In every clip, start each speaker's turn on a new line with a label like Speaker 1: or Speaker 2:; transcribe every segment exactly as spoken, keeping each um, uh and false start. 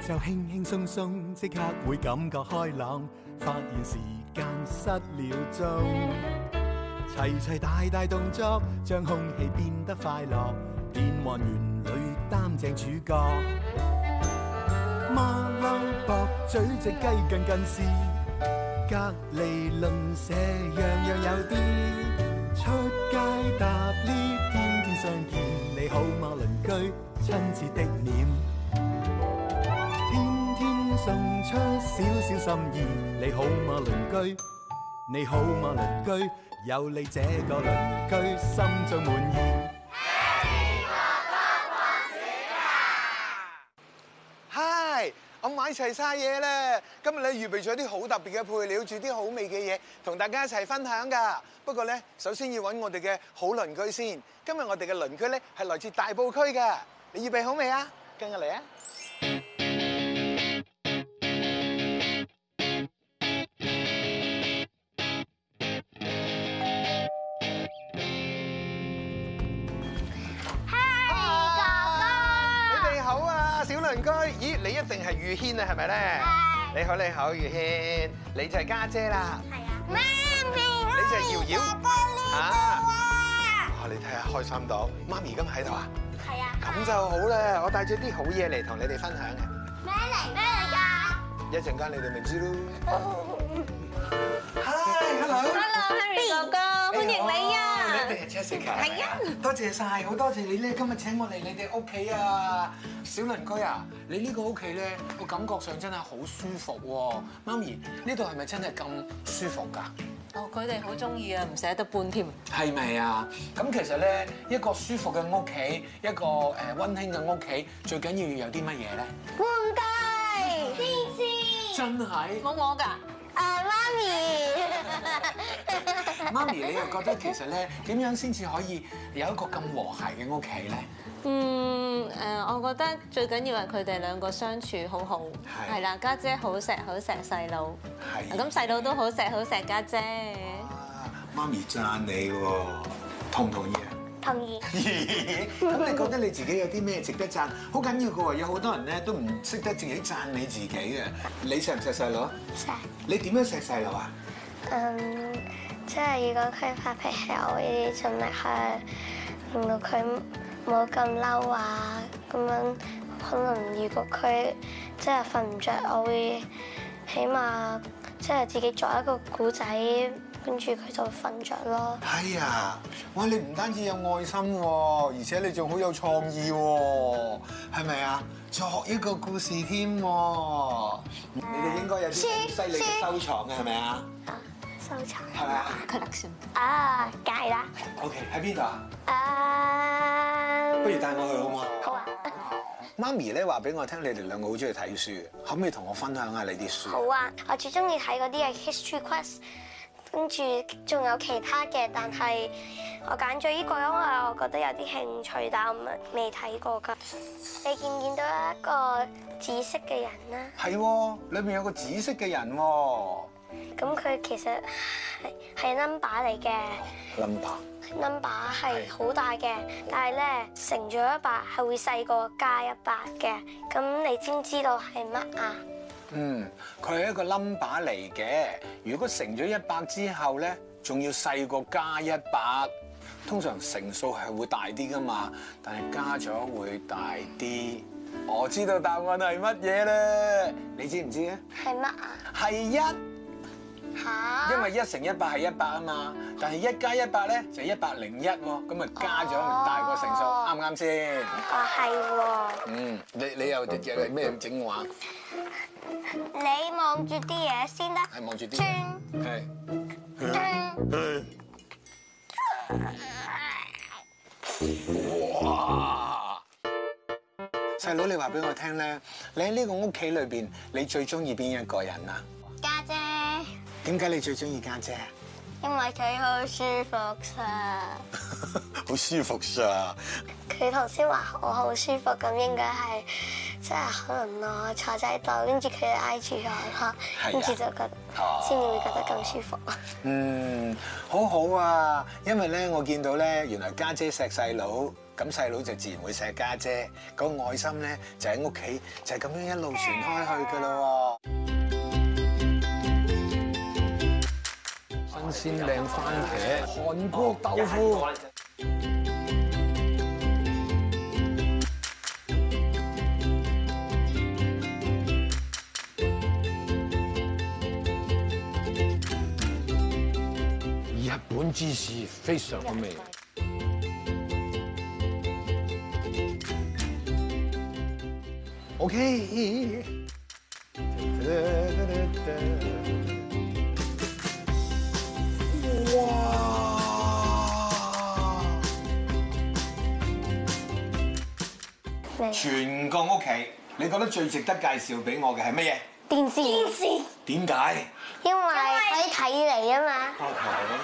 Speaker 1: 就輕輕鬆鬆，即刻會感覺開朗，發現時間失了蹤。齊齊大大動作，將空氣變得快樂，變幻園裏擔正主角。馬騮駁嘴隻雞近近視，隔離鄰舍樣樣有啲。出街搭 lift，天天相見，你好嗎鄰居？親切的臉，天天送出少少心意，你好嗎鄰居？你好嗎鄰居？有你這個鄰居，心中滿意。
Speaker 2: 嗨，我買齊晒嘢啦！今日咧預備咗啲好特別嘅配料，煮啲好味嘅嘢，同大家一齊分享㗎。不過咧，首先要揾我哋嘅好鄰居先。今日我哋嘅鄰居咧係來自大埔區㗎。你預備好未啊？跟我嚟啊！鄰居，咦，你一定係宇軒啊，係咪咧？係。你好，你好，宇軒，你就係家姐啦。係啊。媽咪，你就係瑤瑤。啊。啊，你睇下開心到，媽咪今日喺度啊？係啊。咁就好啦，我帶咗啲好嘢嚟同你哋分享嘅。咩嚟？咩嚟㗎？一陣間你哋咪知咯。Hi，hello。Hello，Henry 哥哥，歡迎你啊！你哋係 Jessica。係啊。多謝晒，好多謝你咧，今日請我嚟你哋屋企啊！小鄰居啊，你呢個屋企咧個感覺上真係好舒服喎。媽咪，呢度係咪真係咁舒服㗎？
Speaker 3: 哦，佢哋好中意啊，唔捨得搬添。係
Speaker 2: 咪啊？咁其實咧，一個舒服嘅屋企，一個誒溫馨嘅屋企，最緊要要有啲乜嘢咧？
Speaker 4: 玩具、電視。
Speaker 2: 真係。
Speaker 3: 冇我㗎。
Speaker 4: 誒，媽咪。
Speaker 2: 媽咪，你又覺得其實咧點樣先至可以有一個咁和諧嘅屋企咧？
Speaker 3: 嗯誒，我覺得最緊要係佢哋兩個相處好好，係啦，家姐好錫好錫細佬，係咁細佬都好錫好錫家姐。
Speaker 2: 啊，媽咪讚你喎，同唔同意啊？
Speaker 4: 同意。
Speaker 2: 咁你覺得你自己有啲咩值得讚？好緊要嘅喎，有好多人咧都唔識得自己讚你自己嘅。你錫唔錫細佬？
Speaker 4: 錫。你
Speaker 2: 點樣錫細佬啊？
Speaker 4: 嗯，即係如果佢發脾氣，我會盡力去令到佢冇咁嬲啊，咁樣可能如果佢即係瞓唔着，我會起碼即係自己作一個故仔，跟住佢就瞓着咯。
Speaker 2: 係啊，哇！你唔單止有愛心喎，而且你仲好有創意喎，係咪啊？作一個故事添喎，你哋應該有啲犀利嘅收藏嘅係咪啊？
Speaker 4: 收藏
Speaker 2: 係咪啊
Speaker 3: ？Collection
Speaker 4: 啊，梗係啦。
Speaker 2: OK，喺邊度啊？
Speaker 4: 啊，
Speaker 2: 不如帶我去好唔好？
Speaker 4: 好啊。
Speaker 2: 媽咪咧話俾我聽，你哋兩個好中意睇書，可唔可以同我分享下你啲書？
Speaker 4: 好啊，我最中意睇嗰啲係 History Quest， 跟住仲有其他嘅，但係我揀咗呢個，因為我覺得有啲興趣，但我未睇過㗎。你見唔見到一個紫色嘅人啦？
Speaker 2: 係喎，裏面有個紫色嘅人喎。
Speaker 4: 咁佢其實係係 number 嚟嘅
Speaker 2: number
Speaker 4: number 係好大嘅，但係咧乘咗一百係會細過加一百嘅。咁你知唔知道係乜啊？
Speaker 2: 嗯，佢係一個 number 嚟嘅。如果乘咗一百之後咧，仲要細過加一百。通常乘數係會大啲噶嘛，但係加咗會大啲。我知道答案係乜嘢咧？你知唔知啊？
Speaker 4: 係乜啊？
Speaker 2: 係一。嚇！因為一乘一百係一百啊嘛，但係一加一百咧就一百零一喎，咁咪加咗大個乘數，啱唔啱先？
Speaker 4: 啊，係喎。嗯，
Speaker 2: 你你又又咩整話？
Speaker 4: 你望住啲嘢先得。
Speaker 2: 係望住啲。
Speaker 4: 轉。
Speaker 2: 係。哇！細佬，你話俾我聽咧，你喺呢個屋企裏邊，你最中意邊一個人啊？
Speaker 4: 家姐。
Speaker 2: 點解你最中意家姐啊？
Speaker 4: 因為佢好舒服咋。
Speaker 2: 好舒服咋？
Speaker 4: 佢頭先話我好舒服，咁應該係即係可能我坐喺度，跟住佢挨住我咯，跟住就覺得先至會覺得咁舒服。
Speaker 2: 嗯，好好啊，因為咧我見到咧，原來家姐錫細佬，咁細佬就自然會錫家姐，個愛心咧就喺屋企就係咁樣一路傳開去㗎咯喎。新鮮靚番茄、韓國豆腐。日本芝士非常好味。OK。哇！全個屋企，你覺得最值得介紹俾我嘅係乜嘢？
Speaker 4: 電視。電視。
Speaker 2: 點解？
Speaker 4: 因為可以睇你啊嘛。
Speaker 2: OK。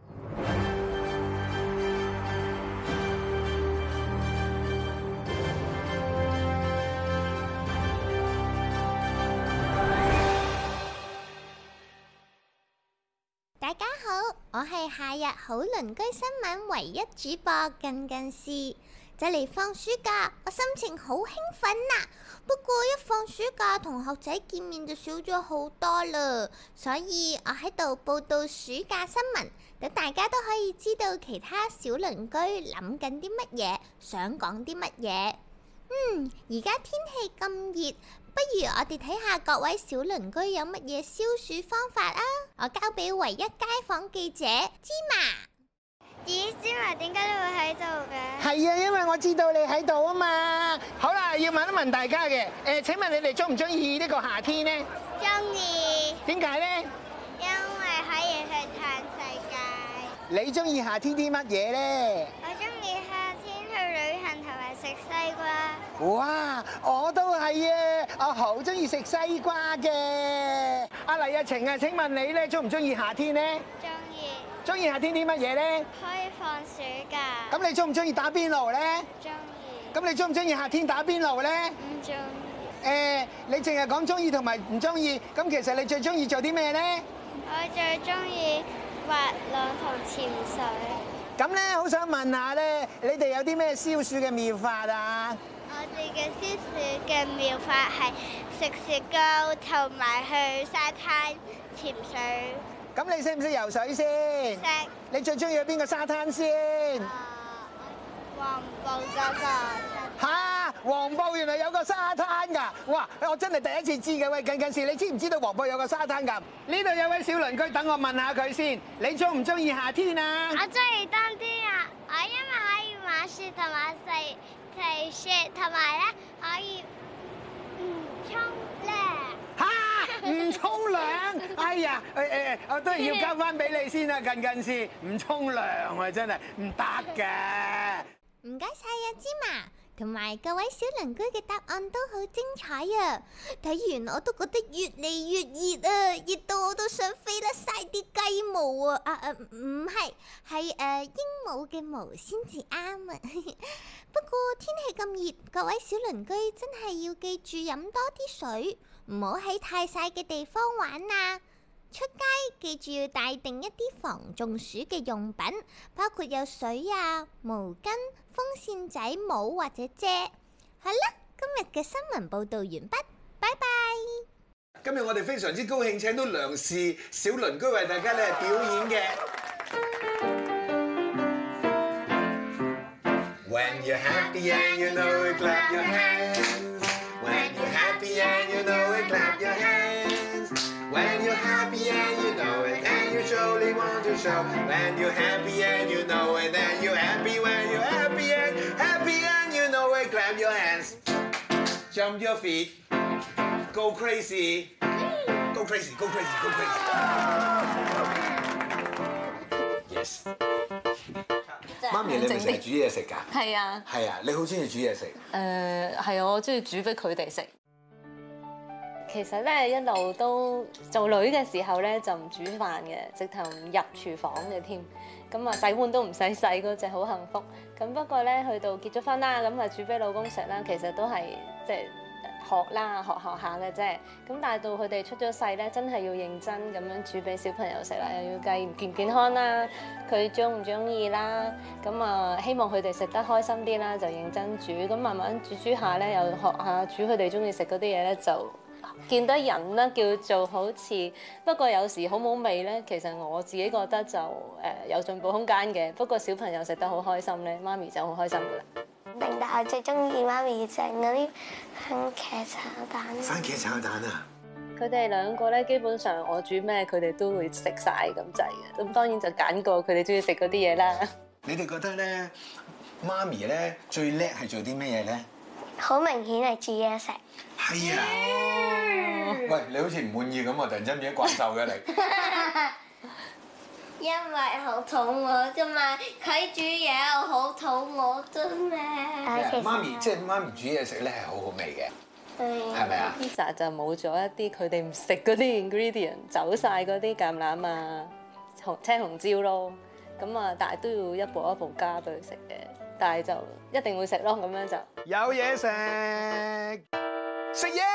Speaker 5: 大家好，我係夏日好鄰居新聞唯一主播近近視。就嚟放暑假，我心情好興奮啊！不過一放暑假，同學仔見面就少咗好多啦，所以我喺度報道暑假新聞，等大家都可以知道其他小鄰居諗緊啲乜嘢，想講啲乜嘢。嗯，而家天氣咁熱，不如我哋睇下各位小鄰居有乜嘢消暑方法啊！我交俾唯一街坊記者芝麻。
Speaker 4: 咦，芝麻點解你會喺度嘅？
Speaker 2: 係啊，因為我知道你喺度啊嘛。好啦，要問一問大家嘅，誒，請問你哋中唔中意呢個夏天呢？
Speaker 4: 中意。
Speaker 2: 點解呢？
Speaker 4: 因為可以去嘆世界。
Speaker 2: 你中意夏天啲乜嘢呢？
Speaker 4: 我中意夏天去旅行同埋食西瓜。
Speaker 2: 哇，我都係啊，我好中意食西瓜嘅。阿黎日晴啊，請問你咧中唔中意夏天呢？
Speaker 4: 中意。
Speaker 2: 中意夏天啲乜嘢咧？
Speaker 4: 可以放暑假。
Speaker 2: 咁你中唔中意打邊爐咧？
Speaker 4: 中意。
Speaker 2: 咁你中唔中意夏天打邊爐咧？
Speaker 4: 唔中意。
Speaker 2: 誒，你淨係講中意同埋唔中意，咁其實你最中意做啲咩咧？
Speaker 4: 我最中意滑浪同潛水。
Speaker 2: 咁咧，好想問下咧，你哋有啲咩消暑嘅妙法啊？
Speaker 4: 我哋嘅消暑嘅妙法係食雪糕同埋去沙灘潛水。
Speaker 2: 咁你識唔識游水先？
Speaker 4: 識。
Speaker 2: 你最中意去邊個沙灘先？
Speaker 4: 黃埔嗰個。
Speaker 2: 嚇！黃埔原來有個沙灘㗎！哇！我真係第一次知嘅。喂，近近視，你知唔知道黃埔有個沙灘㗎？呢度有位小鄰居，等我問下佢先。你中唔中意夏天啊？
Speaker 4: 我中意冬天啊！我因為可以玩雪同埋食食雪，同埋咧可以唔沖涼。
Speaker 2: 嚇！唔沖涼？哎呀！誒誒，我都係要交翻俾你先啊！近近視，唔沖涼啊，真係唔得嘅。
Speaker 5: 唔該晒啊，芝麻。同埋各位小鄰居嘅答案都好精彩啊！睇完我都覺得越嚟越熱啊，熱到我都想飛甩晒啲雞毛啊！啊啊，唔係，係誒鸚鵡嘅毛先至啱啊！不過天氣咁熱，各位小鄰居真係要記住飲多啲水，唔好喺太曬嘅地方玩啊！出街記住要帶定一啲防中暑嘅用品，包括有水啊、毛巾、風扇仔、帽或者遮。好啦，今日嘅新聞報導完畢，拜拜。
Speaker 2: 今日我哋非常之高興請到梁氏小鄰居為大家咧表演嘅。When you're happy and you know it, clap your hands. When you're happy and you know it, clap your hands.When you're happy and you know it, and you surely want to show. When you're happy and you know it, and you're happy. When you're happy and happy and you know it, clap your hands, jump your feet, go crazy, go crazy, go crazy, go crazy. Yes. 媽咪，你咪成日煮嘢食㗎？
Speaker 3: 係啊。係
Speaker 2: 啊，你好中意煮嘢食？
Speaker 3: 誒係啊，我中意煮俾佢哋食。其實咧一路都做女嘅時候咧就唔煮飯嘅，直頭唔入廚房嘅添。咁啊洗碗都唔使洗嗰隻，好幸福。咁不過咧去到結咗婚啦，咁啊煮俾老公食啦，其實都係即係學啦，學學下嘅啫。咁但係到佢哋出咗世咧，真係要認真咁樣煮俾小朋友食啦，又要計健唔健康啦，佢中唔中意啦。咁啊，希望佢哋食得開心啲啦，就認真煮。咁慢慢煮煮下咧，又學下煮佢哋中意食嗰啲嘢咧，就見得人啦，叫做好似。不過有時好冇味咧，其實我自己覺得就誒有進步空間嘅。不過小朋友食得好開心咧，媽咪就好開心噶啦。
Speaker 4: 但係我最中意媽咪整嗰啲番茄炒蛋。
Speaker 2: 番茄炒蛋啊！
Speaker 3: 佢哋兩個咧，基本上我煮咩，佢哋都會食晒咁滯嘅。咁當然就揀過佢哋中意食嗰啲嘢啦。
Speaker 2: 你哋覺得咧，媽咪咧最叻係做啲咩嘢咧？
Speaker 4: 好明顯係煮嘢食。
Speaker 2: 係啊！喂，你好似唔滿意咁啊！突然之間變咗怪獸嘅你。
Speaker 5: 因為好肚餓啫嘛，佢煮嘢我好肚餓啫咩？
Speaker 2: 媽咪即係媽咪煮嘢食咧係好好味嘅，係咪啊
Speaker 3: ？Pizza 就冇咗一啲佢哋唔食嗰啲 ingredient， 走晒嗰啲橄欖啊、紅青紅椒咯。咁啊，但係都要一步一步加俾佢食嘅。但係就一定會食咯，咁樣就
Speaker 2: 有嘢食，食嘢，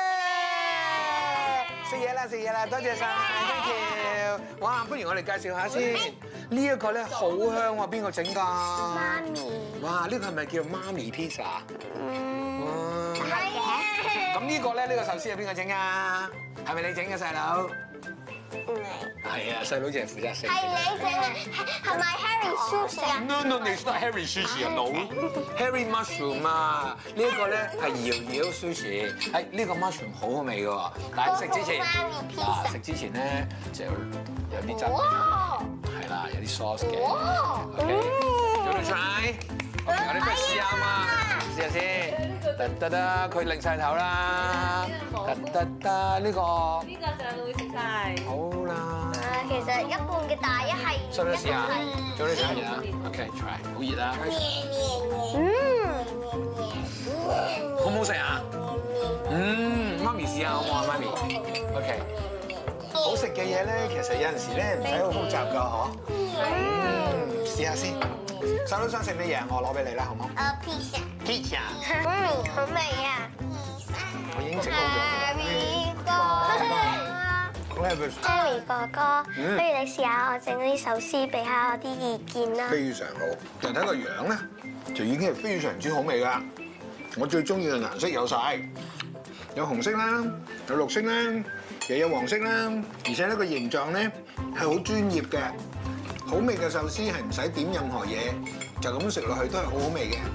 Speaker 2: 食嘢啦，食嘢啦，多謝晒 ，thank you。哇，不如我哋介紹下先，呢一個咧好香喎，邊個整㗎？
Speaker 4: 媽咪。
Speaker 2: 哇，呢個係咪叫媽咪 pizza？
Speaker 4: 嗯。
Speaker 2: 哇。
Speaker 4: 係嘅。
Speaker 2: 咁呢個咧，呢個壽司係邊個整㗎？係咪你整嘅細佬？
Speaker 4: 唔係。
Speaker 2: 係啊，細佬淨係負責食。
Speaker 4: 係你整嘅，係咪 Harry Sushi 啊
Speaker 2: ？No no，你係 Harry Sushi 啊，no，Harry Mushroom 啊，呢一個咧係瑤瑤 Sushi，係呢個 mushroom 好好味嘅喎，但係食之前，嗱食之前咧就有啲汁，係啦，有啲 sauce 嘅。OK，做到 try，我哋不如試下嘛，試下先。得得得，佢擰晒頭啦。得得得，呢個
Speaker 3: 呢個就會食晒。
Speaker 2: 好啦。
Speaker 4: 啊，其實一半嘅大一係。
Speaker 2: 收咗試下，做啲試下啊 ，OK，try， 好熱啊！
Speaker 4: 嗯。
Speaker 2: 好唔好食啊？嗯，媽咪試下好唔好啊？媽咪 ，OK。好食嘅嘢咧，其實有陣時咧唔使好複雜㗎，嗬。嗯，試下先。細佬想食咩嘢？我攞俾你啦，好唔好？
Speaker 4: 啊 pizza。
Speaker 2: pizza。
Speaker 4: 嗯，好味啊！
Speaker 2: 我已經整好咗。
Speaker 4: Harry 哥，Harry 哥哥，不如你試下我整嗰啲壽司，俾下我啲意見啦。
Speaker 2: 非常好，但睇個樣咧，就已經係非常之好味㗎。我最中意嘅顏色有晒，有紅色啦，有綠色啦，又有黃色啦，而且呢個形狀咧係好專業嘅。好味嘅壽司係唔使點任何嘢，就咁食落去都係好好味嘅。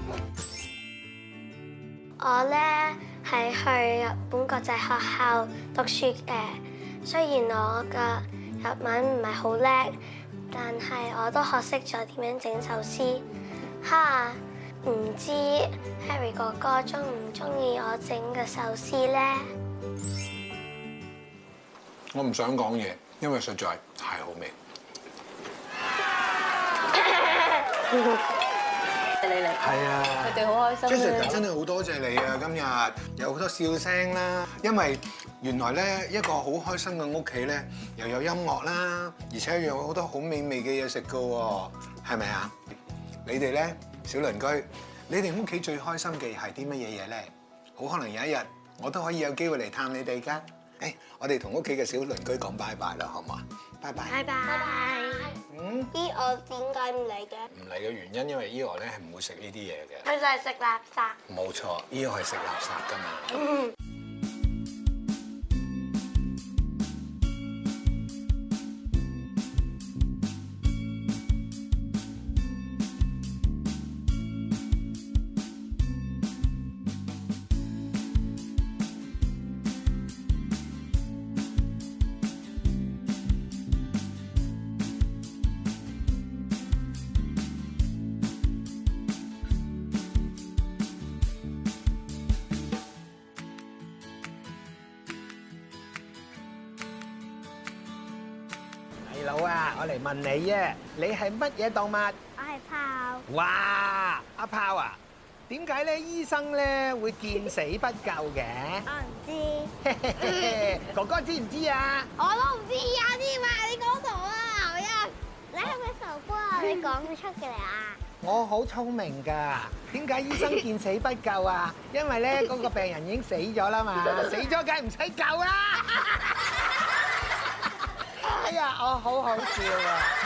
Speaker 4: 我咧係去日本國際學校讀書嘅，雖然我嘅日文唔係好叻，但係我都學識咗點樣整壽司。哈，唔知 Harry 哥哥中唔中意我整嘅壽司咧？
Speaker 2: 我唔想講嘢，因為實在太好味。
Speaker 3: 你嚟，
Speaker 2: 係啊，
Speaker 3: 佢哋好開心。
Speaker 2: Jessica 真係好多謝你啊！今日有好多笑聲啦，因為原來咧一個好開心嘅屋企咧，又有音樂啦，而且又有好多好美味嘅嘢食噶喎，係咪啊？你哋咧小鄰居，你哋屋企最開心嘅係啲乜嘢嘢咧？好可能有一日我都可以有機會嚟探你哋㗎。誒，我哋同屋企嘅小鄰居講拜拜啦，好唔好啊？拜拜。
Speaker 4: 拜拜。
Speaker 2: 嗯。
Speaker 4: 依我點解唔嚟嘅？
Speaker 2: 唔嚟嘅原因，因為 Eo 咧係唔會食呢啲嘢嘅。
Speaker 4: 佢就係食垃圾。
Speaker 2: 冇錯，Eo係食垃圾㗎嘛。
Speaker 6: 老啊，我嚟問你啊，你係乜嘢動物？
Speaker 4: 我係豹。
Speaker 6: 哇，阿豹啊，點解咧醫生咧會見死不救嘅？
Speaker 4: 我唔知。
Speaker 6: 哥哥知唔知啊？
Speaker 5: 我都唔知啊，添啊！你講傻啊，牛一，你係咪傻瓜啊？你講佢出嘅嚟啊？
Speaker 6: 我好聰明㗎。點解醫生見死不救啊？因為咧嗰個病人已經死咗啦嘛，死咗梗係唔使救啦。哎呀，我好好笑啊！